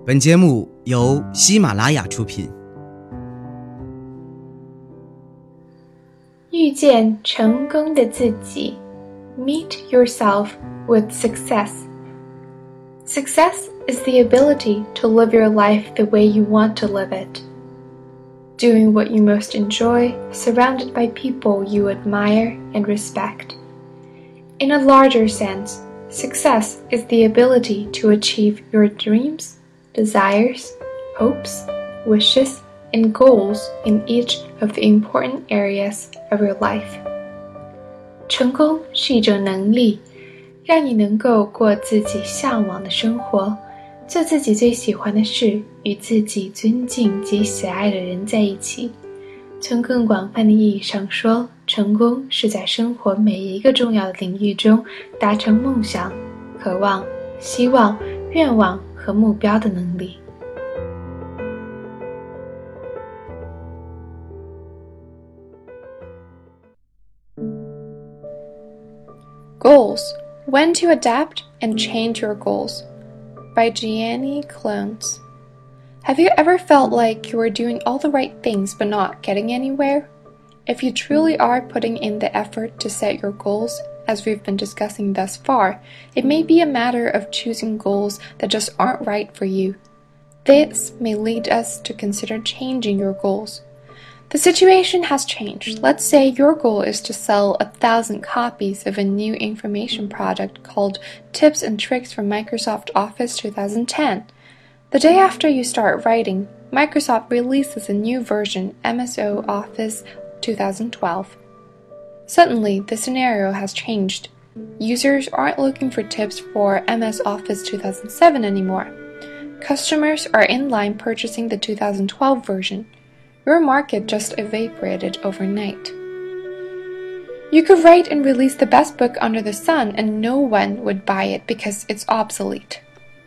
本节目由喜马拉雅出品。 遇见成功的自己 Meet yourself with success. Success is the ability to live your life the way you want to live it. Doing what you most enjoy, surrounded by people you admire and respect. In a larger sense, success is the ability to achieve your dreams, desires, hopes, wishes, and goals in each of the important areas of your life. 成功是一种能力，让你能够过自己向往的生活，做自己最喜欢的事，与自己尊敬及喜爱的人在一起。从更广泛的意义上说，成功是在生活每一个重要的领域中达成梦想、渴望、希望、愿望和目标的能力。Goals: When to Adapt and Change Your Goals by Gianni Clones. Have you ever felt like you are doing all the right things but not getting anywhere? If you truly are putting in the effort to set your goals, as we've been discussing thus far, it may be a matter of choosing goals that just aren't right for you. This may lead us to consider changing your goals. The situation has changed. Let's say your goal is to sell 1,000 copies of a new information product called Tips and Tricks from Microsoft Office 2010. The day after you start writing, Microsoft releases a new version, MSO Office 2012. Suddenly, the scenario has changed. Users aren't looking for tips for MS Office 2007 anymore. Customers are in line purchasing the 2012 version. Your market just evaporated overnight. You could write and release the best book under the sun and no one would buy it because it's obsolete.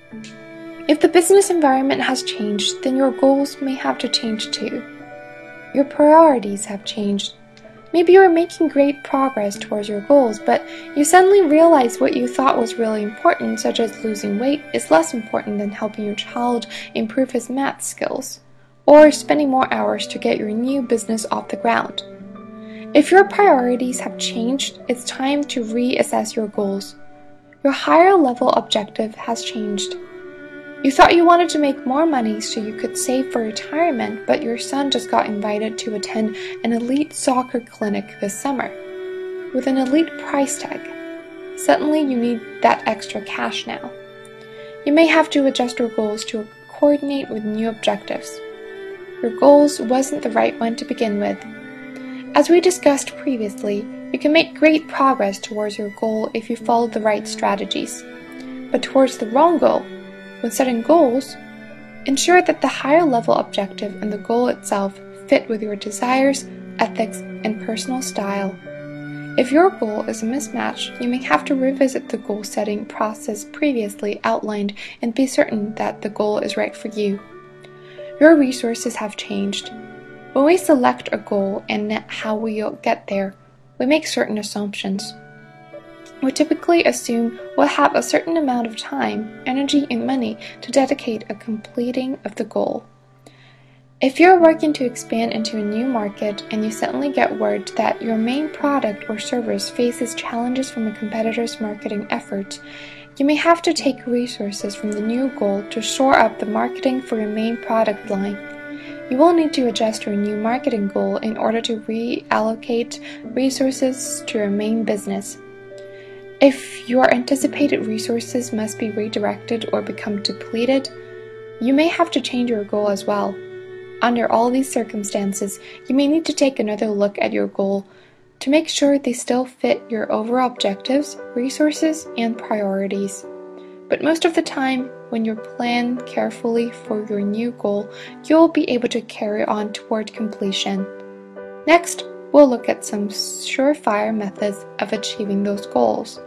If the business environment has changed, then your goals may have to change too. Your priorities have changed. Maybe you're making great progress towards your goals, but you suddenly realize what you thought was really important, such as losing weight, is less important than helping your child improve his math skills, or spending more hours to get your new business off the ground. If your priorities have changed, it's time to reassess your goals. Your higher level objective has changed. You thought you wanted to make more money so you could save for retirement, but your son just got invited to attend an elite soccer clinic this summer with an elite price tag. Suddenly you need that extra cash now. You may have to adjust your goals to coordinate with new objectives. Your goals wasn't the right one to begin with. As we discussed previously, you can make great progress towards your goal if you follow the right strategies. But towards the wrong goal, when setting goals, ensure that the higher level objective and the goal itself fit with your desires, ethics, and personal style. If your goal is a mismatch, you may have to revisit the goal setting process previously outlined and be certain that the goal is right for you. Your resources have changed. When we select a goal and how we'll get there, we make certain assumptions. We typically assume we'll have a certain amount of time, energy, and money to dedicate a completing of the goal. If you're working to expand into a new market and you suddenly get word that your main product or service faces challenges from a competitor's marketing efforts, you may have to take resources from the new goal to shore up the marketing for your main product line. You will need to adjust your new marketing goal in order to reallocate resources to your main business. If your anticipated resources must be redirected or become depleted, you may have to change your goal as well. Under all these circumstances, you may need to take another look at your goal to make sure they still fit your overall objectives, resources, and priorities. But most of the time, when you plan carefully for your new goal, you'll be able to carry on toward completion. Next, we'll look at some surefire methods of achieving those goals.